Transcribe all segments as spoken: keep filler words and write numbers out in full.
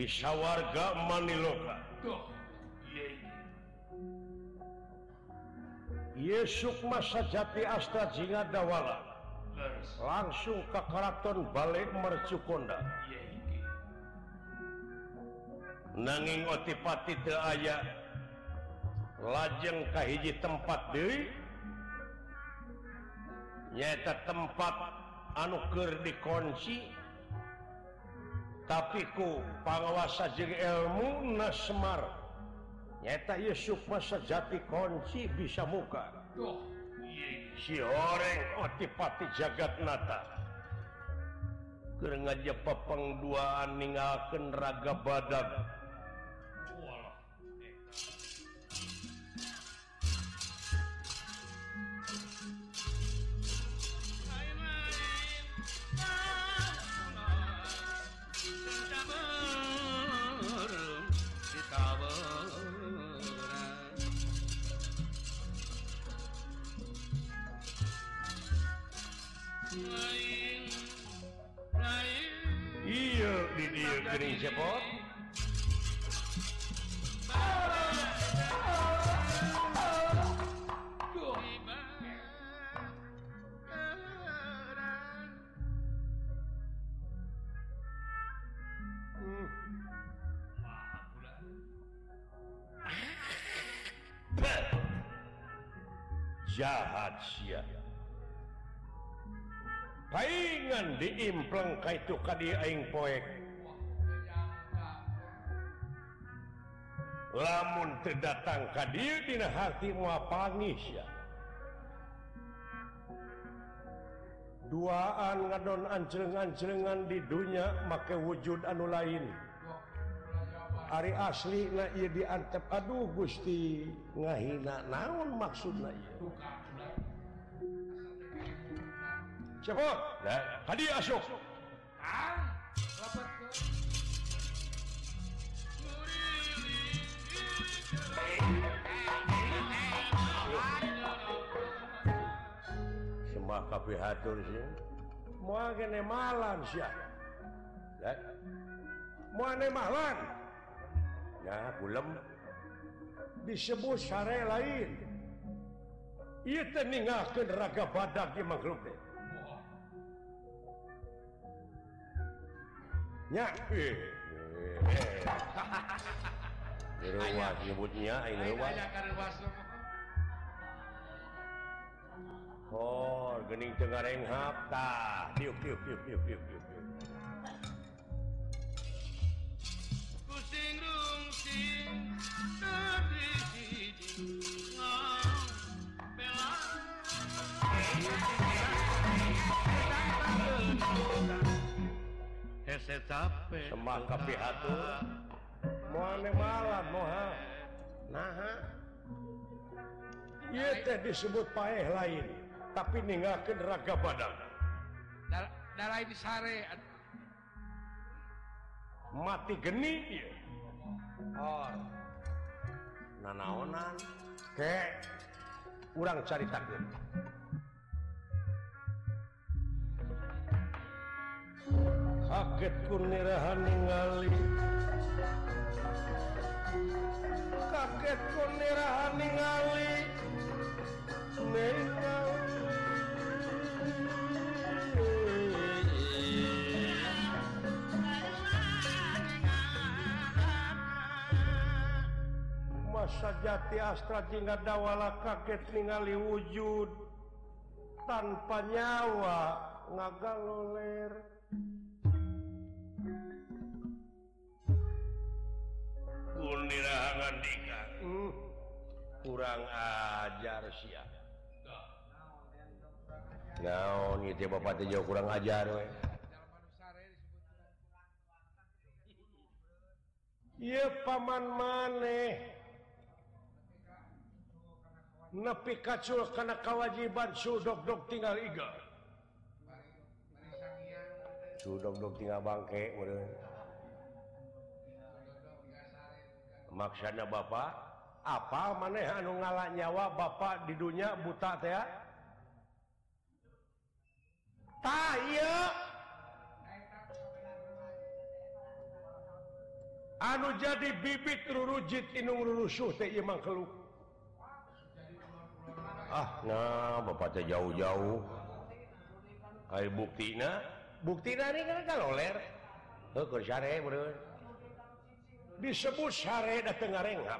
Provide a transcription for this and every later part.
bisa warga Maniloka Yesuk masa jati Astra Jinga Dawala langsung ke keraton balik Mercukonda nanging otipati teu aya lajeng ka hiji tempat deui nyaeta tempat anu keur dikunci tapi ku panguasa jeung ilmu na Semar nyaeta Yusuf masa jati kunci bisa muka si horeng otipati Jagatnata keur ngajep pengduaan ninggalkeun raga badag iya di dia gering cepot jahat sia paingan diimpleng ka itu ka dieu aing poek lamun teu datang ka dieu dina hati moal pangis ya duaan ngadon anjreng-anjrengan di dunya make wujud anu lain ari asli na ieu diantep aduh Gusti ngahina naon maksudna ieu cepot hadi asuk sembah kabeh hatur sih moal kene malan sia moal ne malan ya kulem disebut sare lain ieu teh ninggalkeun raga badag di makhluk teh nya eh ruas nyebutnya ini ruas oh geuning teu ngarenghap tah diuk diuk diuk diuk diuk diuk pusing rungsing tadi ngong bela hese capek sembah kabeh hatur moal ne malam moha naha ieu teh disebut paeh lain tapi ninggalkeun raga badan da lain sare mati geni ieu oh nanaonan ke urang caritakeun kaget ku nirahan ningali kaget ku nirahan ningali ningali masa jati Astra Jinga Dawala kaget ningali wujud tanpa nyawa ngagaloler kunirahan dika hmm. kurang ajar sia naon ieu teh bapak teh jauh kurang ajar we ieu paman maneh nepi kacul kana kawajiban sudog-dog tinggal iga sudog-dog tinggal bangke meureun maksudna bapak apa maneh anu ngalah nyawa bapak di dunia buta teh tah ieu anu jadi bibit rurujit inung rurusuh teh ieu mah keluk. Ah, nah bapak teh jauh-jauh. Ai buktina, buktina ini kan kaloler. Heuh keur sare beureun. Disebut sare da teu ngarengap.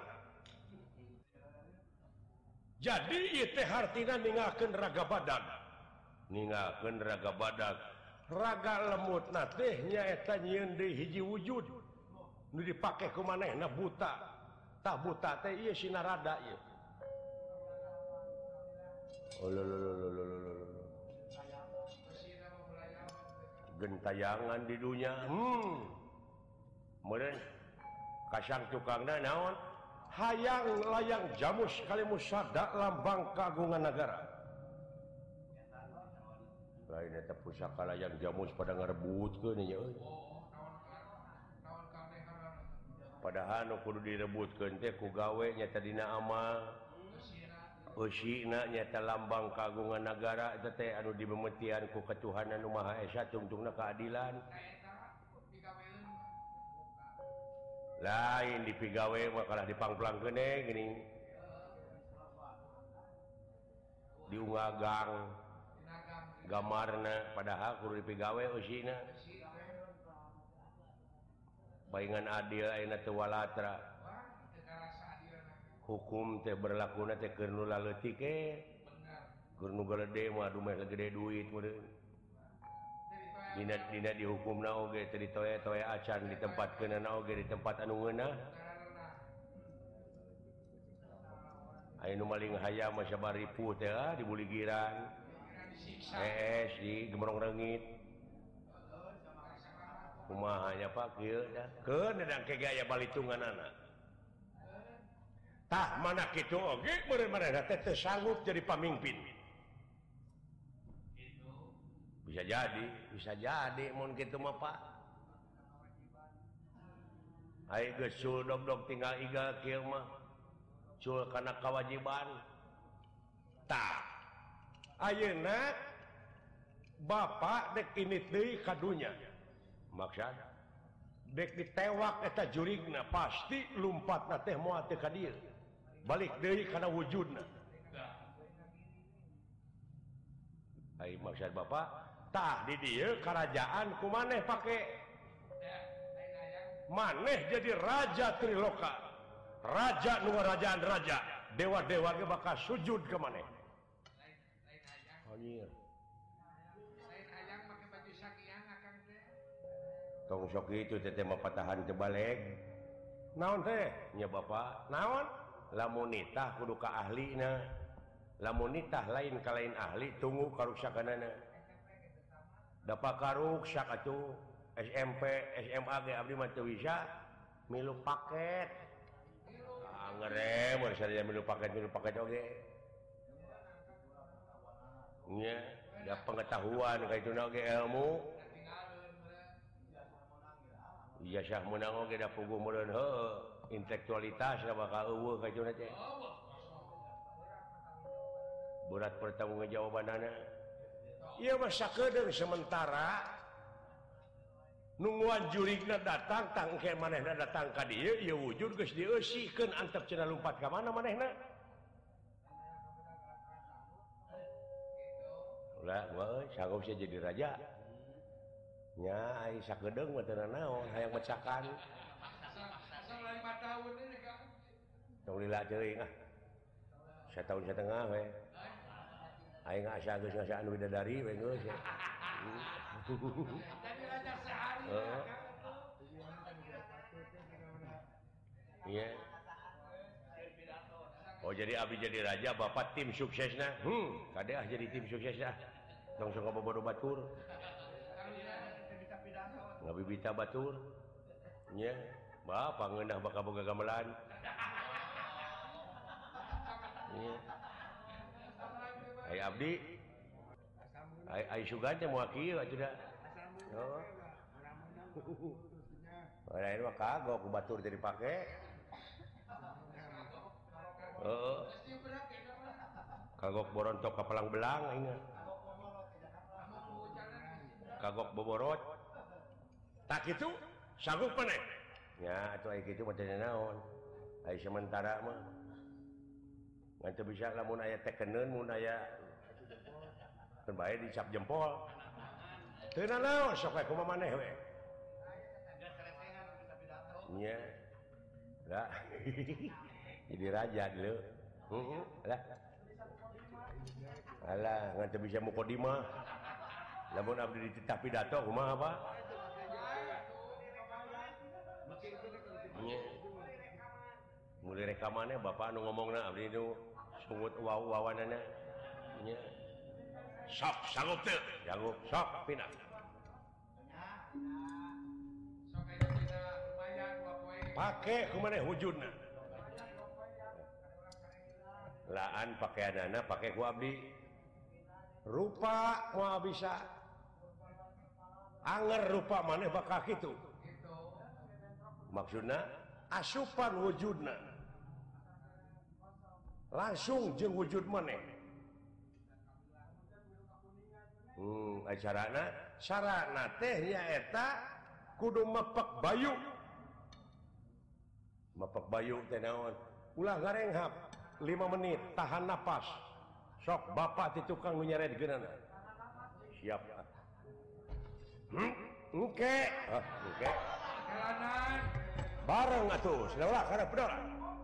Jadi ieu teh hartina ningakeun raga badag. Ningakeun raga badag. Raga lemutna teh nyaeta nyieun deui hiji wujud. Nu dipake ku manehna buta. Tah buta teh ieu sinarada ieu. Oh lo lo lo lo lo lo lo. Gentayangan di dunia. Hmm. Meureun kasang tukangna naon? Hayang layang jamus kali musada lambang kagungan negara. Lain eta pusaka layang jamus pada ngarebutkeun nya euy. Padahal nu kudu direbutkeun teh ku gawe nya dina amal. Eusina nyata lambang kagungan negara eta teh anu dimemetian ku Ketuhanan Nu Maha Esa tungtungna keadilan. Lain dipigawe mah kalah dipangplangkeun eh geuning. Diungagang gamarna padahal kudu dipigawe eusina. Baingan adil ayeuna teu walatra. Hukum teh berlakuna teh keur nu laleutik ke. Keur nu gede mah adu mah gede duit meureun. Dina dina dihukumna oge teu ditoe-toe acan ditempatkeunna oge di tempat anu ngeunah. Aya nu maling hayam mah sabari ripuh teh ah di buligiran. Hees di gemrong reungit. Kumaha nya Pak kieu dah. Keun dangke gaya balitunganana. Tah mana kitu oge meureun manehna teh teu sanggup jadi pamimpin. Bisa jadi, bisa jadi mun kitu mah Pak. Ai geus sul dog-dog tinggal igal kieu mah. Sul kana kewajiban. Tah. Ayeuna Bapak dek ini deui ka dunya. Maksud dek ditewak eta jurigna pasti lumpatna teh moal teu ka dieu. Balik deui kana wujudna. Ai maksud Bapak, tah di dieu karajaan ku maneh pake. Maneh jadi raja Triloka. Raja nu ngarajaan raja. Dewa-dewa ge bakal sujud ke maneh. Anjir. Lain hayang make baju sakiang akang teh. Tong sok kitu teh mah patahan teu baleg. Naon teh? Nya Bapak. Naon? Lamun nitah kudu ka ahlina. Lamun nitah lain ka lain ahli tunggu karuksakanana. Da pakaruksak atuh S M P, S M A ge abdi mah teu bisa milu paket. Ah ngerem mun sadaya milu paket milu paket oge. Nya, da pengetahuan ka ituna oge ilmu. Iya sah meunang oge da puguh meureun heueuh. Intelektualitas bakal eueuh ka ituna teh. Berat pertanggungjawabanana. Ieu mah sakedeung sementara nungguan jurigna datang tangke manehna datang ka dieu ieu wujud geus dieusikeun antep cenah lumpat ka mana manehna. Ulah gua euy sanggup sia jadi raja. Nya ai sakedeung mah teu naon hayang mecakan. Tong lila ceuing ah. Satahun satengah we. Aing asa geus ngasaan widadari we geus. Jadi raja sehari. Iya. Oh jadi abdi jadi raja bapak tim suksesna. Hmm, kade ah jadi tim suksesna. Tong sok bobodo batur. Ngabibita batur. Nya, bapak ngeunah bakal boga gamelan. Iya. Ai abdi. Ai ai sugan teh moal kieu atuh da. Oh. Lain mah kagok ku batur teh dipake. Heeh. Kagok borontok ka pelang belang ingat. Kagok boborot. Tak kitu sanggup maneh. ya atuh aya kitu mah teh naon aya sementara mah ngan teu bisa lamun aya tekeneun mun aya teu bae dicap jempol teu naon sok aya kumaha maneh we nya da jadi raja dulu heeh lah alah ngan teu bisa mukodimah lamun abdi dititah pidato kumaha apa mulai rekamannya bapak anu ngomongna abdi nu sungut wawanana nya sok sanggup teu sanggup sok pindah sok aya dina lumayan dua poe pake kumaneh wujudna laan pakaianana pake ku abdi rupa moal bisa anger rupa maneh bakal kitu maksudna asupan wujudna langsung jeung wujud maneh hmm acarana sarana teh nyaeta kudu mepek bayu mepek bayu teh naon ulah ngarenghap lima menit tahan napas sok bapak ti tukang nu nyaredgeunana siap hmm engke ah engke jalanan bareng atuh saudara karep pedora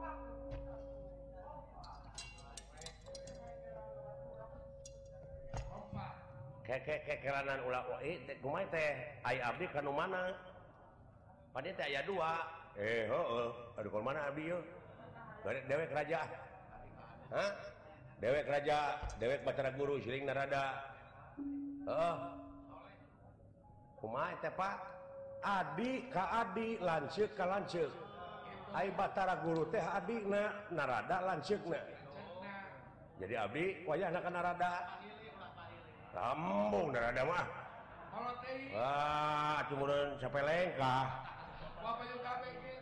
ke ke ke kelanan ulah eh teh kumaha teh ai abdi ka nu mana pade teh aya dua eh heueuh aduh ka mana abdi yeuh dewek raja hah dewek raja dewek Batara Guru siling narada heeh kumaha teh Pak adi ka adi lanceuk ka lanceuk ai Batara Guru teh adina narada lanceukna jadi abdi wayahna ka narada rambung narada mah kolot teh wah atuh meureun sapeleng kah bapak jeung kabeh ge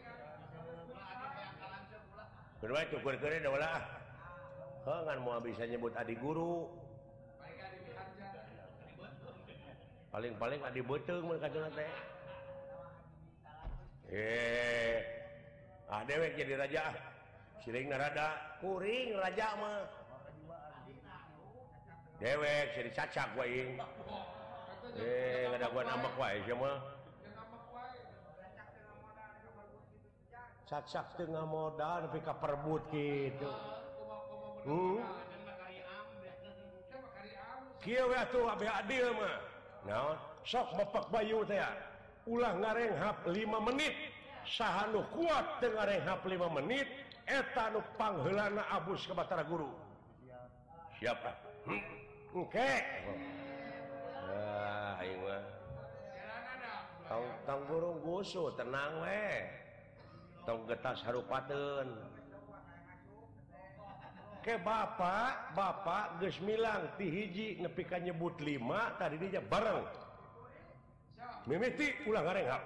kedua cukur-cukur da ulah heuh ngan moal bisa nyebut adi guru paling-paling adi beuteung mun kaduna teh eh ah dewek jadi raja siling narada kuring raja mah dewek jadi cacak wae eh ngadaguan ambek wae sia mah cacak teu ngamodal nepi ka perebut kitu hmm kieu we atuh abdi adil mah naon sok mepek bayu teh ulah ngarenghap lima menit saha nu kuat teu ngarenghap lima menit eta nu pangheulana abus ka Batara Guru siap ah hmm. Oke ah aing mah tong tong burung gusu tenang we tong getas harupateun ke bapak bapak geus milang ti hiji nepi ka nyebut lima tadi dinya bareng mimiti ulah ngarenghap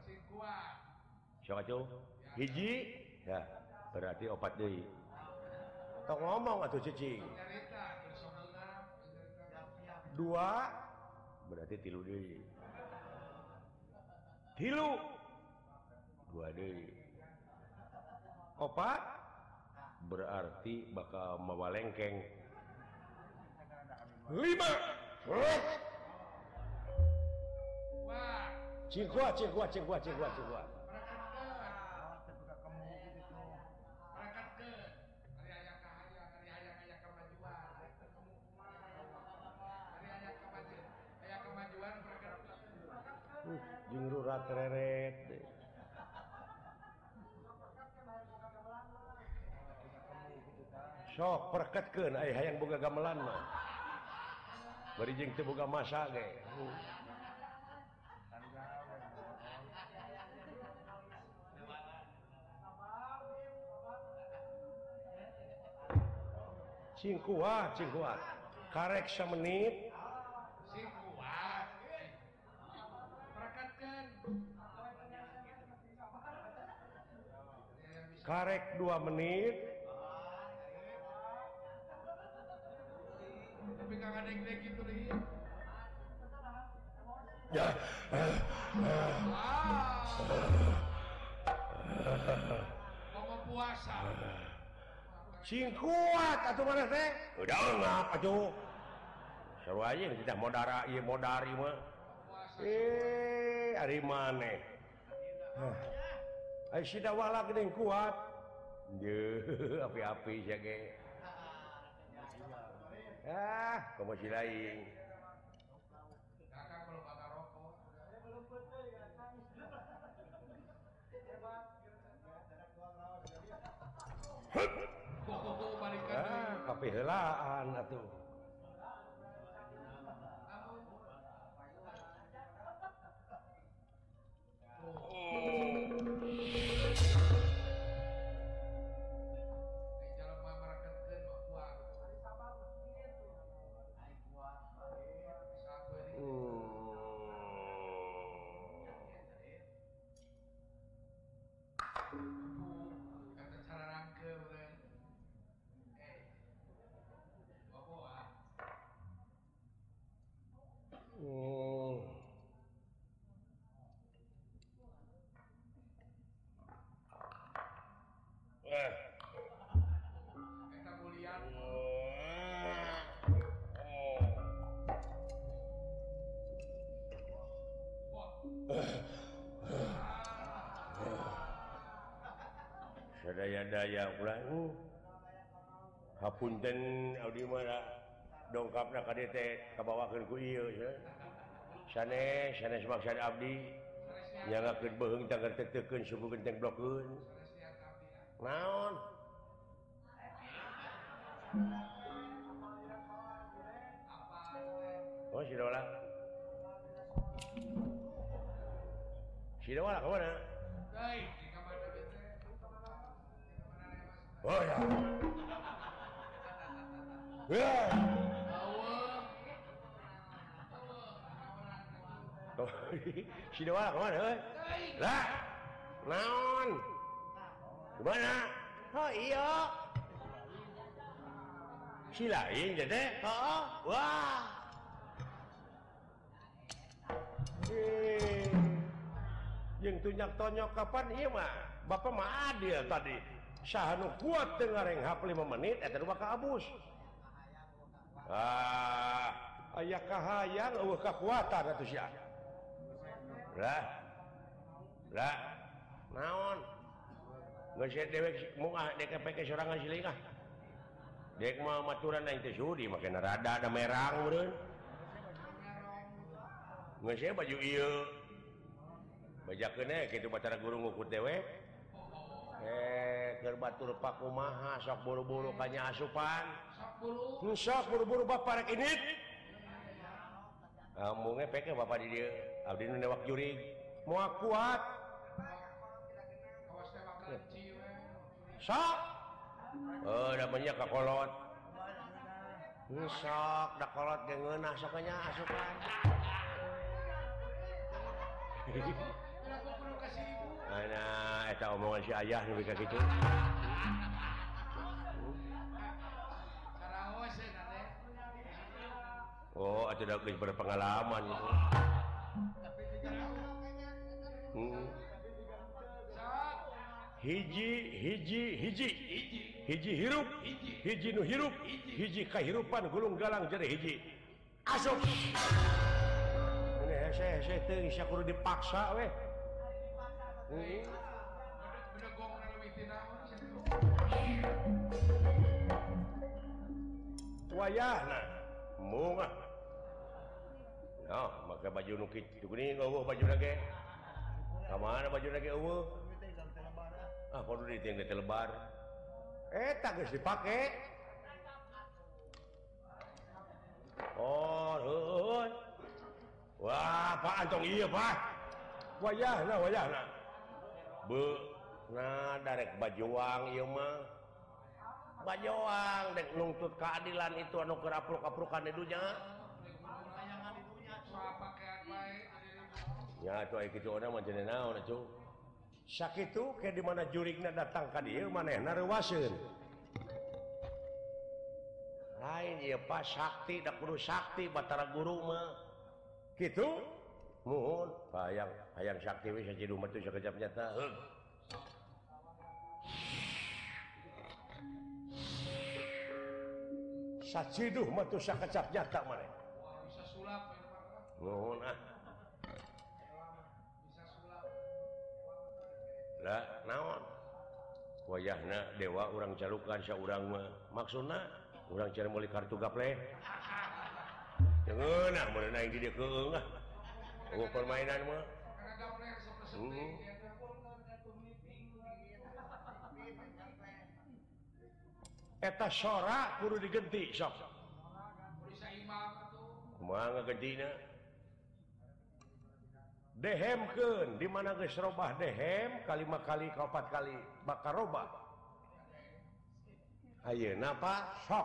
sok atuh hiji ya berarti opat deui tong ngomong atuh cicing dua berarti tilu deui tilu dua deui opat berarti bakal mawalengkeng lima wah cingkua cingkua cingkua cingkua cingkua jeung rurat reret sok perketkeun aya hayang boga gamelan mah bari jeung teu boga masa ge cingkuah cingkuah karek samenit singkuat perekatkeun karek dua menit tapi kang adek-adek gitu deui ya ah puasa. Sing kuat atuh mana teh? Udah ngapa tuh? Seru aja kita modara ieu modari mah. Eh, ari maneh. Ai si dawala geuning kuat. Ye, api-api sia ge. Ah, komo si lain. Kakak kalau bakar rokok. Oh, balikan Ah, deui. kape heulaan atuh. Ai jelema marakeun mah kuat. Sabeuri. Kata cara rangkeu urang. Eh. Bawa. Hmm. Eh. Eta mulian. Sadaya-daya ulah. Hapunten abdi mah dongkapna ka dieu teh kabawakeun ku ieu nya. Sanes sanes maksud abdi nyangakeun beuheung tanggal teteukeun suku genteng blokeun. Naon? Oh, si Dawala. Si Dawala ke mana? Dai, di kamar teh. Oh ya. Ya. Si Dawala ke mana? Eh? Lah. Naon? Gimana? Oh iya. Si lain jadi? Oh, wah. Eh, yang tunyak tonyok kapan iya mah? Bapak mah adil tadi. Sahanu kuat dengareng hap lima menit, eta dua ka abus. Ah, aya kahayang eueuh kakuatan atuh sia. Lah. Lah. Naon? Geus dewek moal dek pake sorangan silingah. Dek mah maturan aing teh sudi make rada ada merang meureun. Geus baju ieu. Bajakeun we kitu bacara guru ngukut dewek. Eh, keur batur pakumaha sok buru-buru ka nya asupan. Sok buru. Sok buru-buru bapak rek init. Amung peke bapak di dieu. Abdi nu newak jurig. Moal kuat. Kawas teh bakal ciwe. Sok. Oh, da banyak ka kolot. Sok da kolot ge ngeunah sok nya asupan. Aku kudu kasih ibu. Nah, eta omongan si ayah lebih ka kitu. Karaos ya teh. Oh, atuh da geus berpengalaman gitu. Hmm. Sok. Hiji hiji hiji hiji hirup hiji nu hirup hiji kahirupan gulung galang jadi hiji asup. Ini hese hese teu sia kudu dipaksa we. Hmm. Bedegong na leuwih ti naon sia. Wayahna munga. Nah, maka baju nu kitu geuning eueuh baju lage. Ka mana baju lage eueuh? Ah, kudu diting di lebar. Eta geus dipake. Oh, heuh. Wah, Pak Antong ieu, Pak. Wayahna, wayahna. Beu, nah darek bajuang ieu mah. Bajuang dek nuntut keadilan itu anu keur apruk-aprukan di dunya. Soal pakaian bae. Ya, atuh aya kitu ona mah cenah naon atuh. Sakitu ke di mana jurigna datang ka dieu manehna reuwaseun. Lain ieu Pak sakti da kudu sakti batara guru mah. Kitu? Muhun, hayang hayang sakti we sajidu mah teh sakejap nyata. Heug. saciduh mah tuh sakecap nyata maneh. Wah, bisa sulap ya, Pak. Nuhun ah. Bisa sulap. Lah naon? Wayahna dewa urang calukan saurang mah. Maksudna urang cara meuli kartu gaple. Jangan ah mun aing di dieu keung ah. Oh permainan mah. Karena gapler seperti Hmm. Eta sora kudu digenti sok. bisa imam atuh. Kumaha ngagentina? Dehemkeun di mana geus robah dehem kalima kali ka opat kali bakal robah. Ayeuna Pak sok.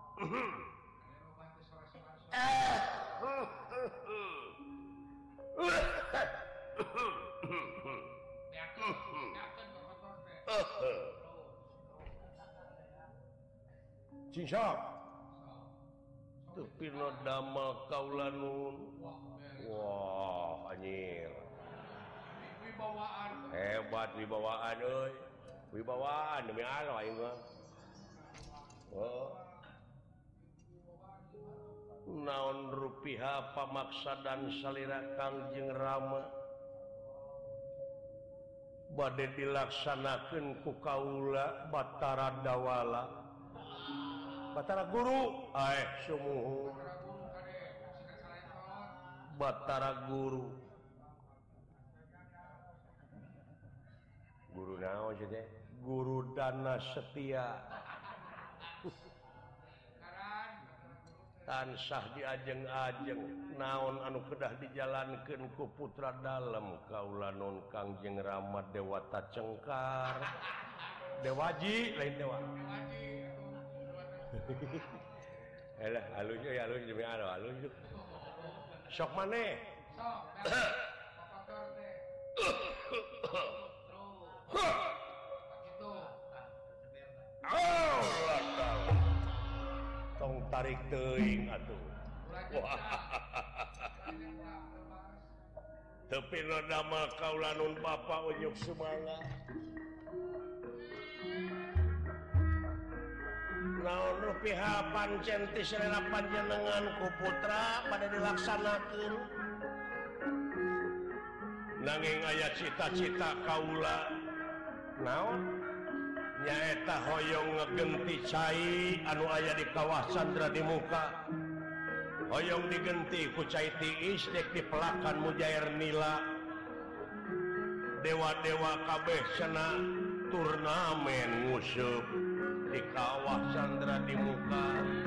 Cincok. Tapi no damel kaulanun. Wah, anjir. Wibawaan. Hebat wibawaan euy. Wibawaan demi Allah aing mah. Oh. Naon rupiah pamaksa dan salira Kangjeng Rama bade dilaksanakeun ku kaula Batara Dawala Batara Guru aeh sumuhun Batara Guru Guru naon sih teh Guru Dana Setia tansah diajeng-ajeng naon anu kedah dijalankeun ku putra dalem kaula non Kangjeng Rama Dewata Cengkar Dewaji lain dewa elah halus ya halus demi Allah halus sok maneh Sok, papator teh. Gitu. Allah taala tong tarik teuing atuh tapi lo damel kaula nun Bapa unyuk sumangga naon rupiah pancen ti selera panjenengan ku putra pada dilaksanakeun nanging aya cita-cita kaula naon nyaeta hoyong ngegenti cai anu aya di kawah Candra di muka hoyong digenti ku cai tiis dek dipelakan mujair nila dewa-dewa kabeh cenah turnamen nguseup di kawah Candra di muka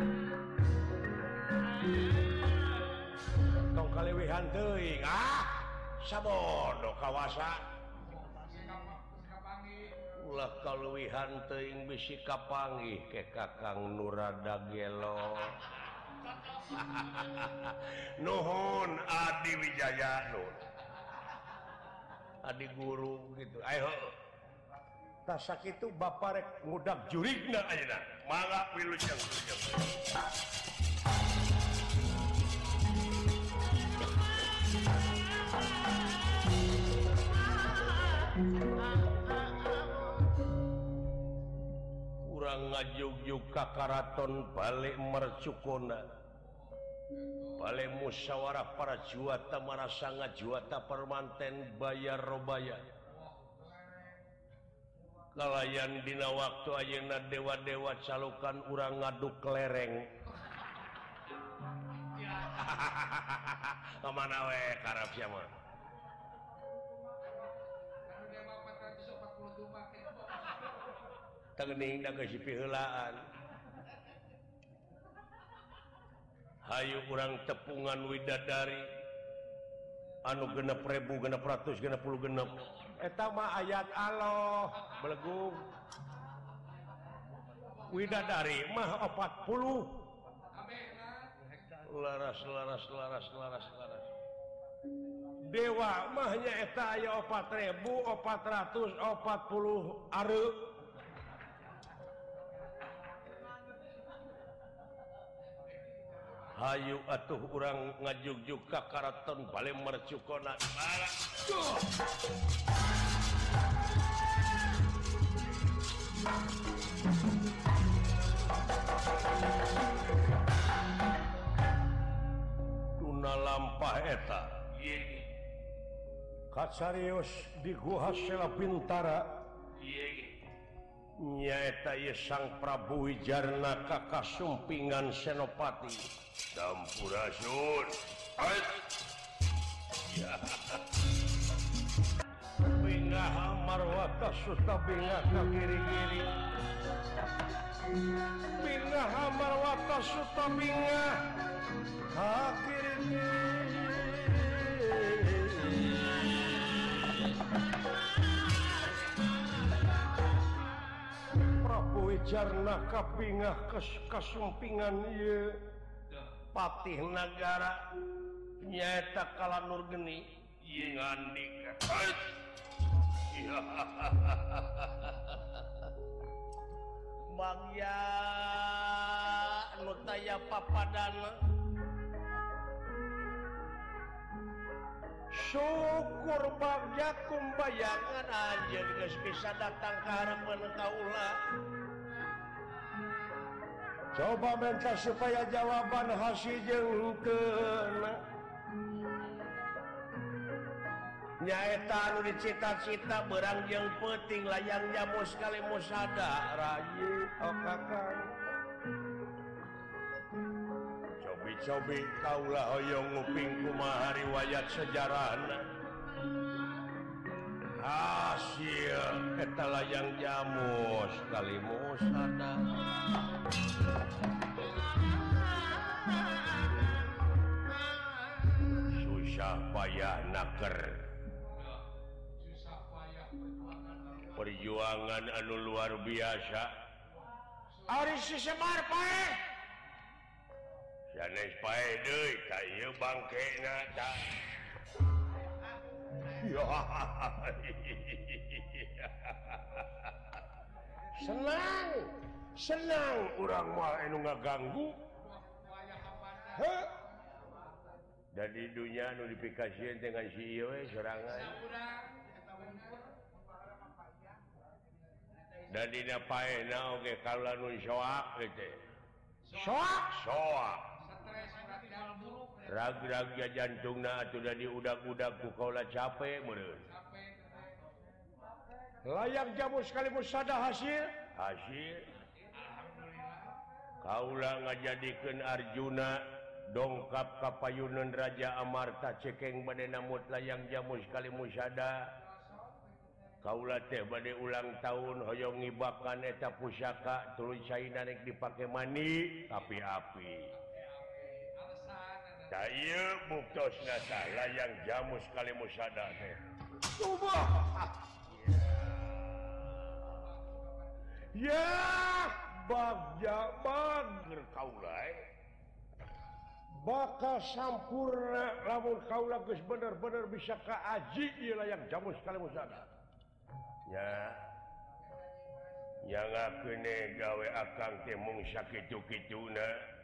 tong kalewihan teuing ah sabodo kawasa ulah kaluwihan teuing bisi kapanggih ke Kakang Nurada Gelo nuhun Adi Wijaya nuhun Adi Guru gitu ayo tah sakitu Bapa rek ngudag jurigna ayeuna mangga wilujeng wilujeng ngajug-jug ka karaton balik mercukona balik musyawarah para juata marasa ngajuata permanten bayar robaya kalayan dina waktu ayeuna dewa-dewa calukan urang ngaduk lereng kemana we karap sia mah teuning da geus piheulaan hayu urang tepungan widadari anu genep ribu genep ratus genep puluh genep eta mah ayat Allah belegung widadari mah opat puluh laras laras laras laras laras dewa mah nya eta aya opat ribu opat ratus opat puluh areu hayu atuh urang ngajug-jug ka karaton bale mercukona bala eta kacarios di Guha Sela Bintara nyaeta ieu Sang Prabu Wijarna ka Sumpingan Senopati Sampurasun ya bingah marwata suta bingah ka kiri-kiri bingah marwata suta bingah ka kiri-kiri Prabu Wijarna kapingah kasumpingan ieu patih nagara nyaeta Kala Nurgeni ieu ngandika Bagya anu taya papadana syukur bagja kumbayangan anjeun geus bisa datang ka hareupeun kaula coba minta supaya jawaban hasil jeung nyaeta anu dicita-cita berang jeung peuting layang jamu sekali musada rayi oh kakang cobi-cobi kaula hoyong nguping kumaha riwayat sejarahna hasil eta layang jamu sekali musada susah payah naker perjuangan anu luar biasa ari si Semar pae sanes pae deui ka ieu bangkena tah senang senang urang moal anu ngaganggu heh dan di dunia anu dipikasieun dengan si ieu we sorangan dan dina paena oge kaula nu soak teh soak soak rag-rag jantungna atuh da diudag-udag ku kaula capek meureun layang jamu sekali musada hasil hasil kaula ngajadikeun Arjuna dongkap ka payuneun Raja Amarta cekeng bade namut layang jamu sekali musada kaula teh bade ulang tahun hoyong ngibakan eta pusaka tuluy caina rek dipake mani api-api da ieu buktosna tah layang jamu sekali musada teh subah ya bagja bager kaula bakal sampurna lamun kaula geus bener-bener bisa kaaji ieu layang jamu sekali musada nya nyangakeun gawe akang teh mung sakitu-kituna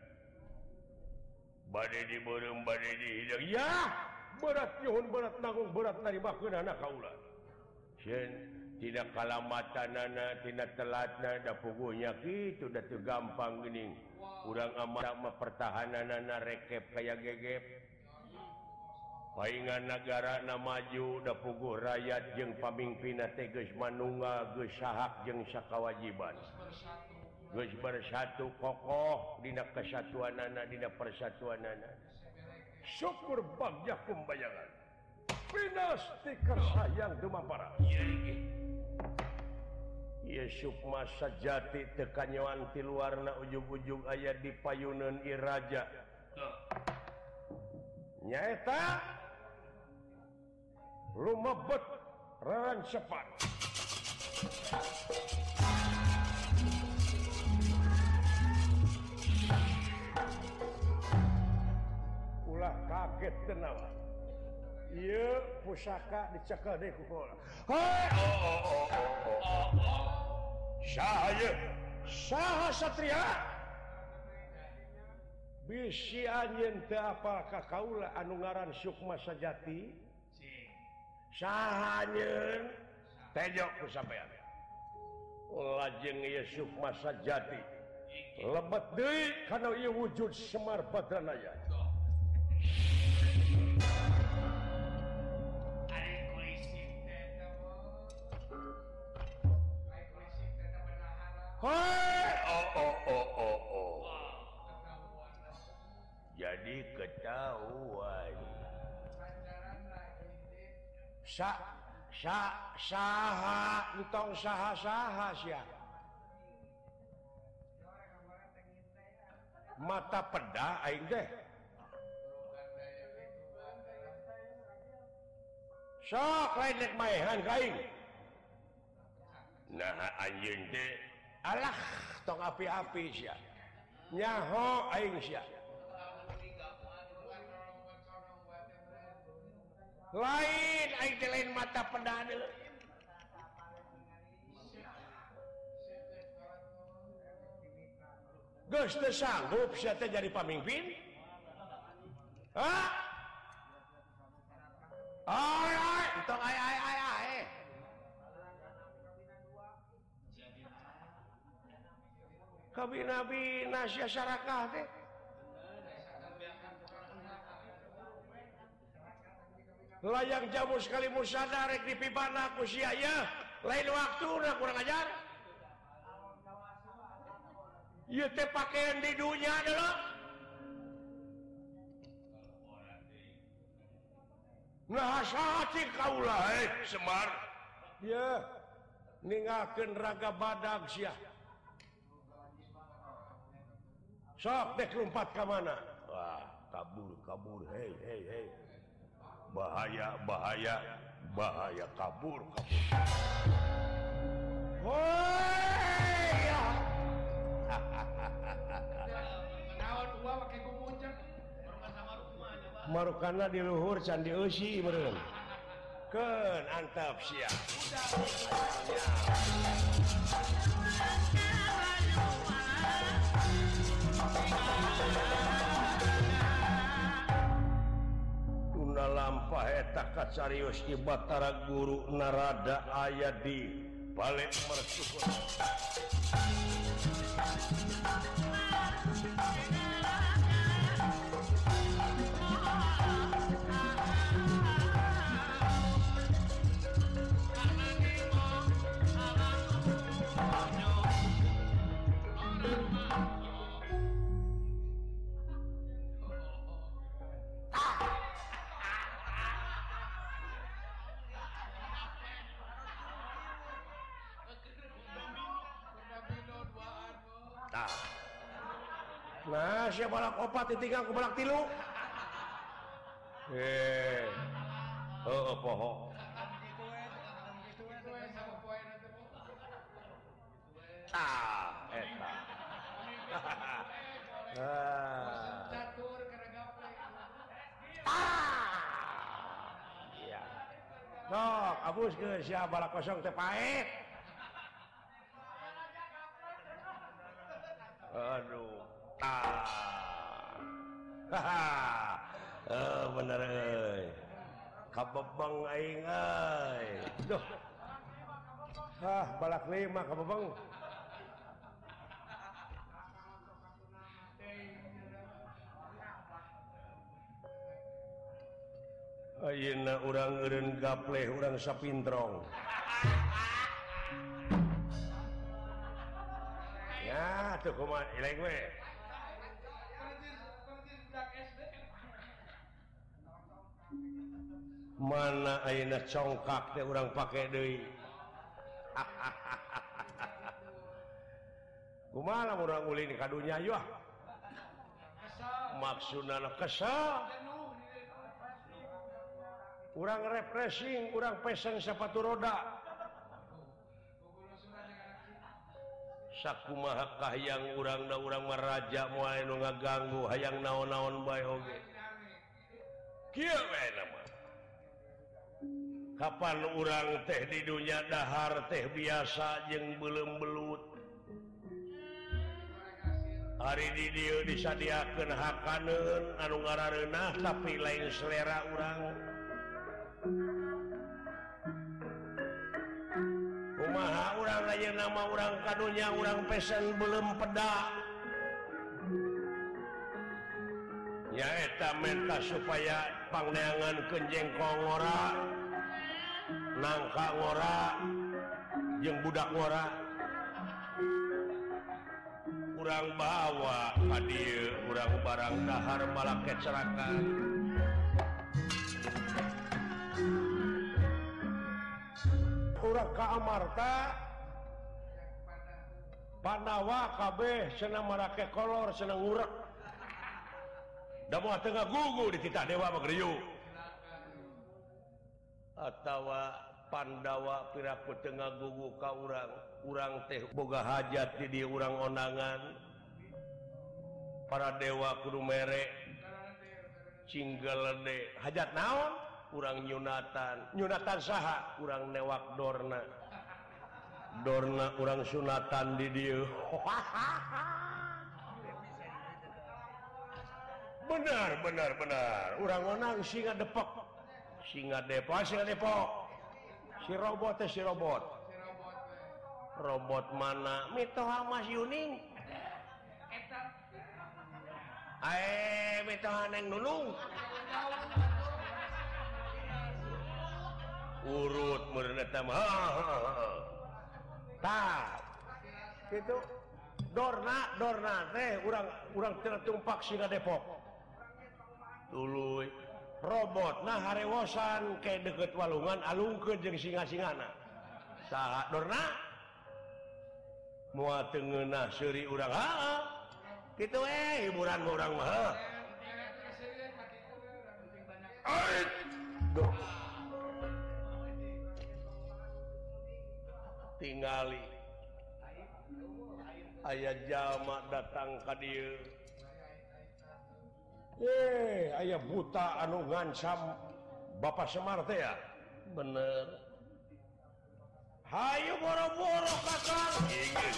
bade dibeureum bade dihidang ya berat nyuhun berat nanggung berat narimakeun anak kaula sieun tina kalamatanana tina telatna da puguhnya kitu da teu gampang geuning urang amat mah pertahananana rekep kaya gegep paingan nagara na maju da puguh rakyat jeung pamimpinna teh geus manunggal geus sahak jeung sakawajiban geus bersatu kokoh dina kesatuanana dina persatuanana syukur bagja kumbayangan pinasti kersayang dumapara ieu sukma sajati teu kanyoan ti luarna ujug-ujug aya di payuneun ieu raja nyaeta lumebet rarancepan ulah kaget tenawa ieu pusaka dicekel deui ku kaula hei oh oh oh oh oh saha ieu saha satria bisi anjeun teu apal ka kaula anu ngaran Sukma Sajati saha anjeun tejok ku sampean lajeng ieu Sukma Sajati lebet deui kana ieu wujud Semar Badranaya Hoi, oh oh oh oh oh. Jadi ketahuan. Sa sa saha entong saha-saha sia. Mata peda aing teh. Sok lain nek maehan ka aing. Nah anjeun teh alah tong api-api sia. Nyaho aing sia. Lain aing teh lain mata peda deuleu. Geus teu sanggup sia teh jadi pamimpin? Hah? Ai ai, tong ai ai ai ai. Kabina-bina sia sarakah teh. Layang jamu sekali musada rek dipibana ku sia ya. Lain waktuna kurang ajar. Ieu teh pakaian di dunia adalah nah sahati kaulah eh Semar. Ya, ninggalkeun raga badag sia. Sok dek lompat ka mana? Wah, kabur kabur hei hei hei. Bahaya bahaya bahaya kabur kabur. Woi ya. Naon gua pakai kumunjang. Marukana di luhur candi eusi meureun. Keun antep sia. Tuna lampah eta kacarios di Batara Guru Narada aya di balik mercukur. Nah, siapa balak opat ditinggal ku balak tilu. Eh, oh, poho. Ah, eta. Ah. Catur karena gaple. Ah. Iya. Sok, abuskeun sia balak kosong teh paet. Aduh. Ah. Haha. Eh bener euy. Kabebeng aing euy. Duh. Hah, balak lima kabebeng. Ayeuna urang eureun gapleh urang sapintrong. Ya, tuh kumaha ilaeng we. Mana ayeuna congkak teh urang pake deui. Kumaha lamun urang ulin ka dunya yeuh? Maksudna kesal. Urang refreshing, urang pesen sepatu roda. Sakumaha kahyang urangna urang maraja moal nu ngaganggu hayang naon-naon bae oge. Kieu we nama. Kapan urang teh di dunya dahar teh biasa jeung beuleum belut. Ari di dieu disadiakeun hakaneun anu ngarareunah tapi lain selera urang. Kumaha urang ayeuna nama urang kadunya urang pesen beuleum peda. Nyaeta menta supaya pangneangankeun jengkol ngora, nangka ngora, jeung budak ngora. urang bawa ka dieu urang barang dahar malah kecelakaan urang ka Amarta Pandawa kabeh senang marake kolor senang ngurek da moal teu ngagugu di titah dewa mah geriyu atawa Pandawa piraku teu ngagugu ka urang urang teh boga hajat di dieu urang onangan para dewa kudu mere cinggelede hajat naon urang nyunatan nyunatan saha urang newak dorna Dorna urang sunatan di dieu. Benar, benar, benar. Urang onang singa depok. Singa depok, singa depok. Si robot teh si robot. Robot mana? Mitoha Mas Yuning. Ae, mitoha Neng Nunung. Urut meureun eta mah. Tah gitu Dorna Dorna teh urang urang teu tumpak singa Depok tuluy robot nah harewosan ke deket walungan alungkeun jeung singa-singana saha Dorna moal teu ngeunah seuri urang heeh kitu we hiburan urang mah heuh tingali aya jalma datang ka dieu eh aya buta anu ngancam Bapak Semar teh ya bener hayu boro-boro kakang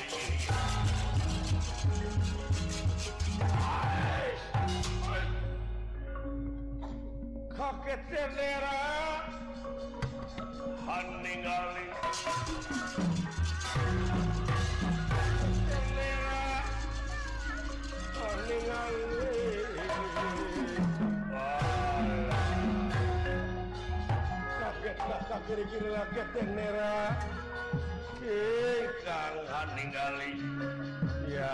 kakek tendera haningali kiri-kiri lagi tenera kang haningali ya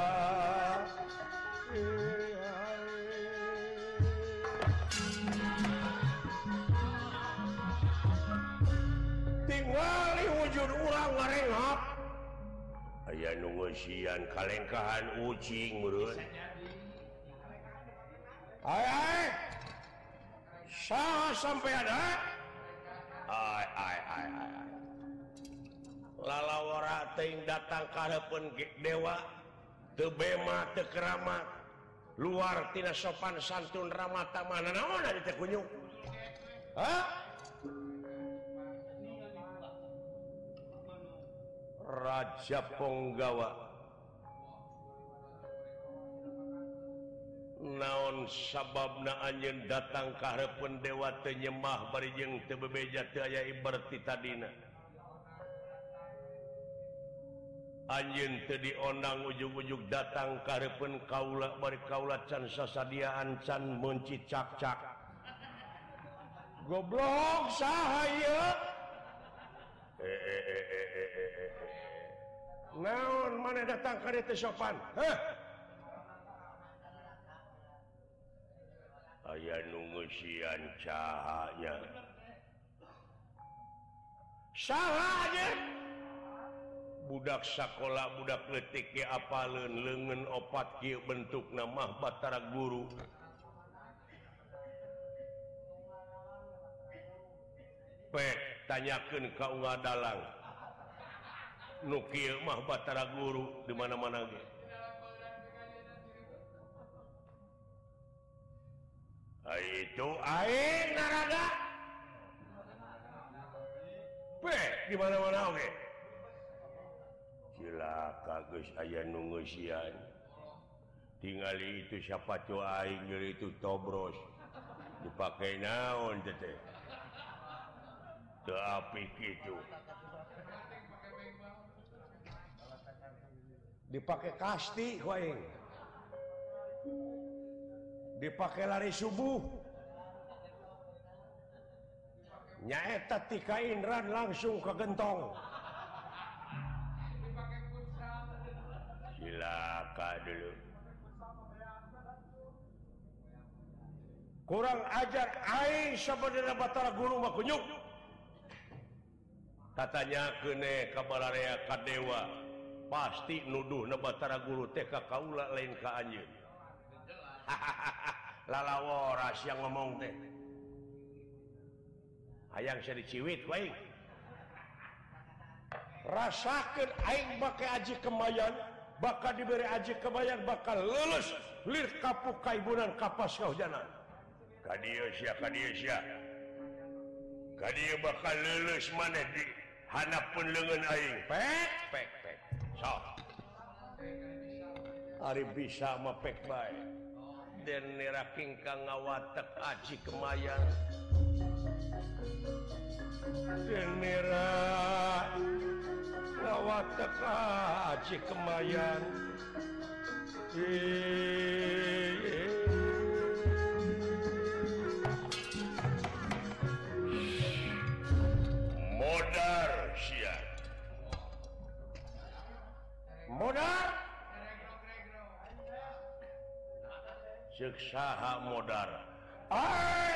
tingali wujud urang ngarengap aya nu ngeusian kalengkahan ucing meureun ai ai saha sampai ada ai ai ai ai lalawara teuing datang ka hareupeun dewa teu bema teu keramat luar tina sopan santun ramah tamah naon ari teh kunyuk hah Raja Ponggawa naon sababna anjeun datang ka hareupeun dewa teu nyembah bari jeung teu bebeja teu aya ibarat ti tadina anjeun teu diondang ujug-ujug datang ka hareupeun kaula bari kaula can sasadiaan can mencicak-cak goblok saha ieu naon maneh datang ka dieu teu sopan heh aya nu ngeusian cahaya saha aja budak sakola budak leutik ge apaleun leungeun opat kieu bentukna mah Batara Guru pek tanyakeun ka Unga Dalang nu kieu mah Batara Guru di mana-mana ge itu aing naraga peh di mana-mana oge cilaka geus aya nu ngeusian tingali itu siapa tuh aing geus itu tobros dipake naon teh teh teu apik kitu dipake kasti ku aing dipake lari subuh nyaeta ti kainran langsung ke gentong cilaka dulu kurang ajar aing sabadana Batara Guru mah kunyuk katanya kene kabararea ka dewa pasti nuduhna Batara Guru teh ka kaula lain ka anjeun lalaworas yang ngomong teh hayang saya diciwit ku aing rasakeun aing make aji kemayan bakal diberi aji kemayan bakal lulus lir kapuk kaibunan kapas kaujanan kadieu sia kadieu sia kadieu bakal lulus maneh di hanapeun leungeun aing pek pek pek sok ari bisa mah pek bae den niraking ka ngawatek aji kemayan den nira ngawatek aji kemayan modar sia modar ceuk saha modar ai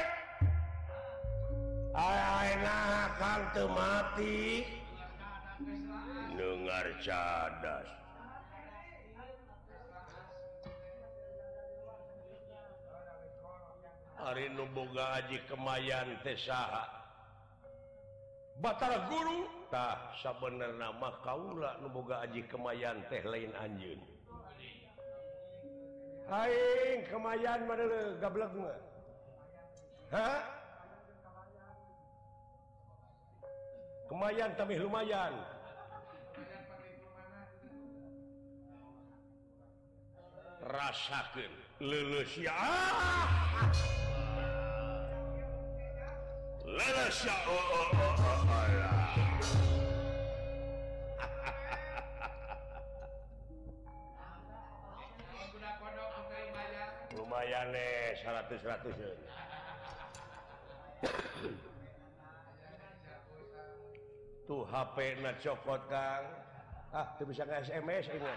ai ai nah kang teu mati dengar cadas ari nu boga aji kemayan teh saha Batara Guru tah sabenerna mah kaula nu boga aji kemayan teh lain anjeun aing kemayan mah deuleu gablek mah ha kemayan tamih lumayan rasakeun leuleus ya leuleus ya oh, oh, oh, oh, oh, ya. Lumayan nih seratus seratus tuh H P na cokot Kang ah tuh bisa nge S M S ingat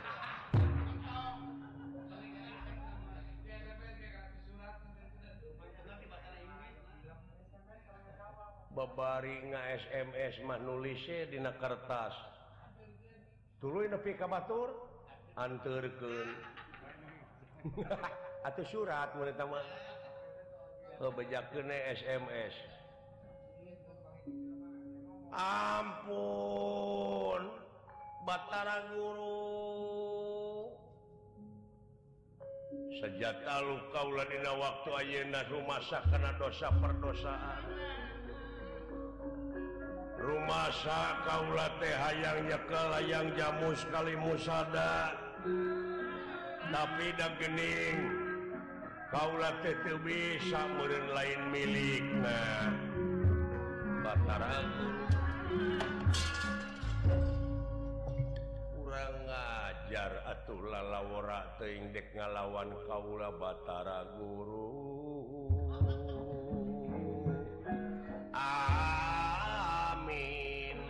babari nge S M S mah nulisnya dina kertas tuluy nepi ka batur anterkeun atau surat mereka mah bejakeun S M S ampun Batara Guru sejata luka ulah dina waktu ayeuna rumasa kana dosa perdosaan rumasa kaula teh hayang nyekel hayang jamu sekali musada tapi da geuning kaula teh teu bisa meureun lain milikna Batara Guru urang ngajar atuh lalawora teuing dek ngalawan kaula Batara Guru amin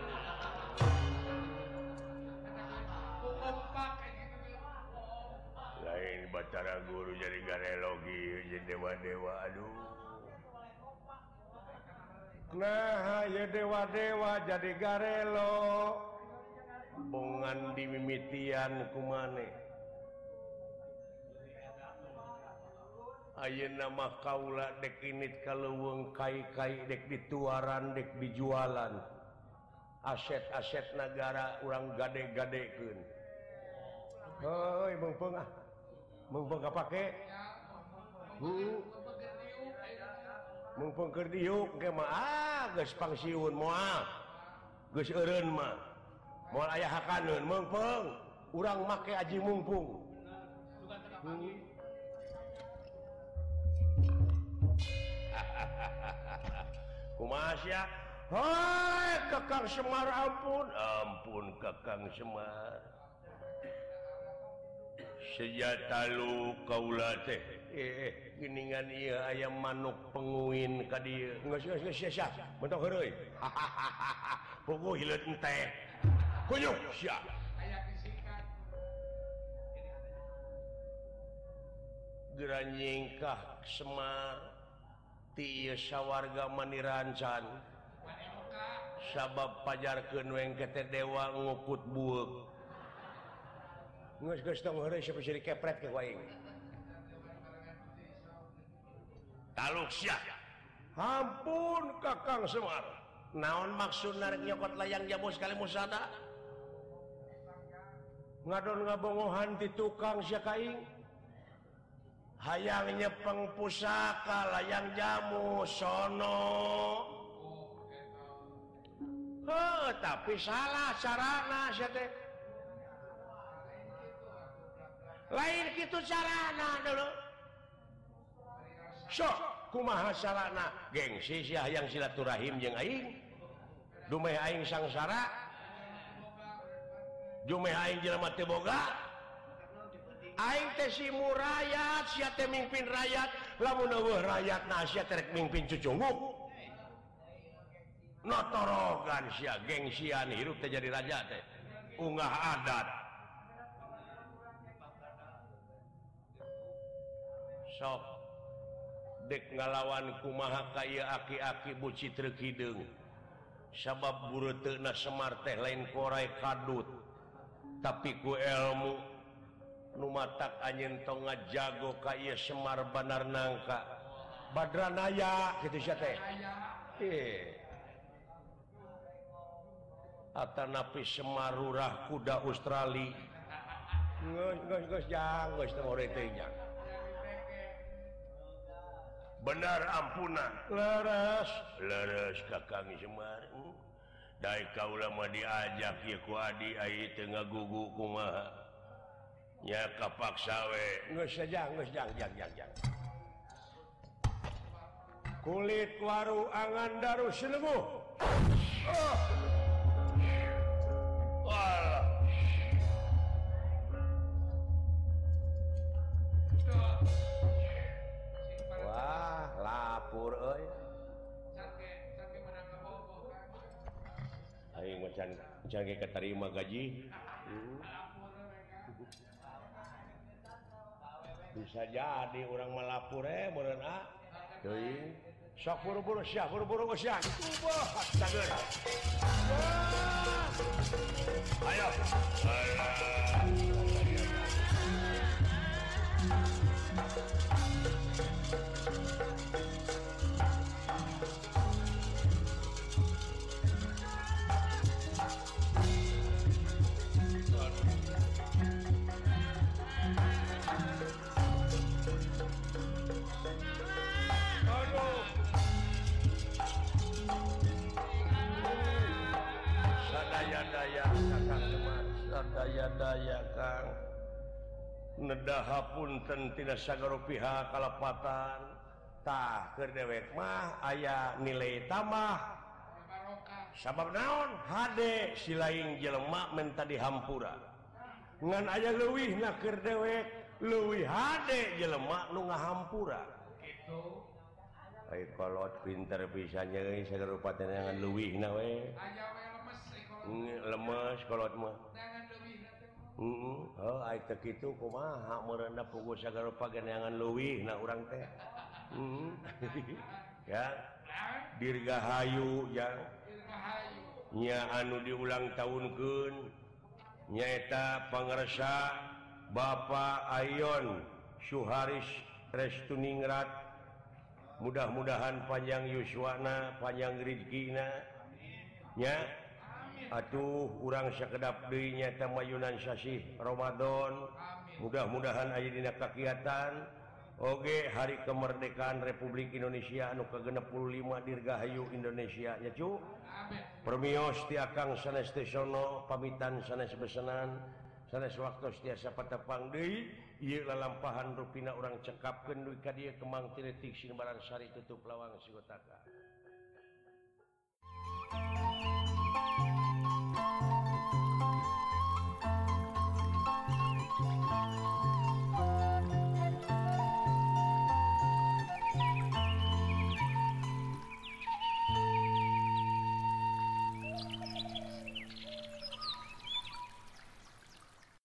lain Batara Guru jadi garelogi jadi dewa-dewa aduh nah ya dewa-dewa jadi garelo bongan dimimitian kumane ayeuna mah kaula dek init kaleuweung kai-kai dek dituaran dek dijualan aset-aset negara urang gade-gadekeun heuy beungpeung ah beungpeung kapake heeh mumpung keur diuk ge mah ah geus pangsiun moal geus eureun mah moal aya hakaneun mumpung urang make aji mumpung hmm. Kumaha sia hoi Kakang Semar ampun ampun Kakang Semar sejata lu kaula teh eh geuningan ieu aya manuk penguin ka dieu geus geus geus sia sia mentok heureuy puguh hileut teh kunyuk sia aya bisikan Geranyingkah Semar ti sawarga manirancan sabab pajarkeun weng kete dewa nguput bueuk geus geus tong heureuy siapa jadi kepret ke waing taluk sia ampun Kakang Semar naon maksudna rek nyokot layang jamu sekali musada ngadon ngabongohan ti tukang sia kaing hayang nyepeng pusaka layang jamu sono heuh tapi salah carana sia teh lain kitu carana dulu sok kumaha carana gengsi sia hayang silaturahim jeung aing dumeh aing sangsara dumeh aing jelema teu boga aing teh si murayat sia teh mimpin rakyat lamun eueuh rakyatna sia teh rek mimpin cucunguk notorogan sia gengsian hirup teh jadi raja teh unggah adat sok dek ngalawan kumaha kaya aki-aki buci treu kideung sabab bureuteuna Semar teh lain korai kadut tapi ku ilmu nu matak anjeun tong ngajago ka ieu Semar Banar Nangka Badranaya kitu sia teh eh atanapi Semar Lurah kuda Australia geus geus geus jang geus teh ore teh jang benar ampunan leres leres Kakang Semar daek kaula mah diajak ieu ku adi ai teu ngagugu kumaha nya kapaksa we geus jang geus jang jang jang jang kulit waru angan daru sineuguh oh. Walah wah lapur euy aing mah can can ge katarima gaji hmm. bisa jadi orang melapur eh meureun ah teuing sok buru-buru sia buru-buru sia ubah sageun ayo daya Kang nedahapun ten tidak sagaro pihak kalepatan tah keur dewek mah aya nilai tambah sabab naon hade si lain jelema menta dihampura ngan aya leuwihna keur dewek leuwih hade jelema nu ngahampura kitu ai kolot pinter bisa nyeuy sagaro patenangan leuwihna we aya we lemes lemes kolot mah heeh oh ai teh kitu kumaha meureunna puguh sagala pageneangan leuwih na urang teh heeh ya dirgahayu ya dirgahayu nya anu diulang tahunkeun nyaeta pangarsa Bapak Ayon Syuharis Restuningrat mudah-mudahan panjang yuswana panjang rezekina nya atuh urang sakedap deui nyaeta mayunan sasih Ramadan mudah-mudahan aya dina kakiatan oge hari kemerdekaan Republik Indonesia anu ka genep puluh lima dirgahayu Indonesia nya cu permios ti akang sanes teh sono pamitan sanes besenan sanes waktos tiasa patepang deui ieu lalampahan rupina urang cekapkeun duwi ka dieu kemang tiletik sinebaran sari tutup lawang sigotaka.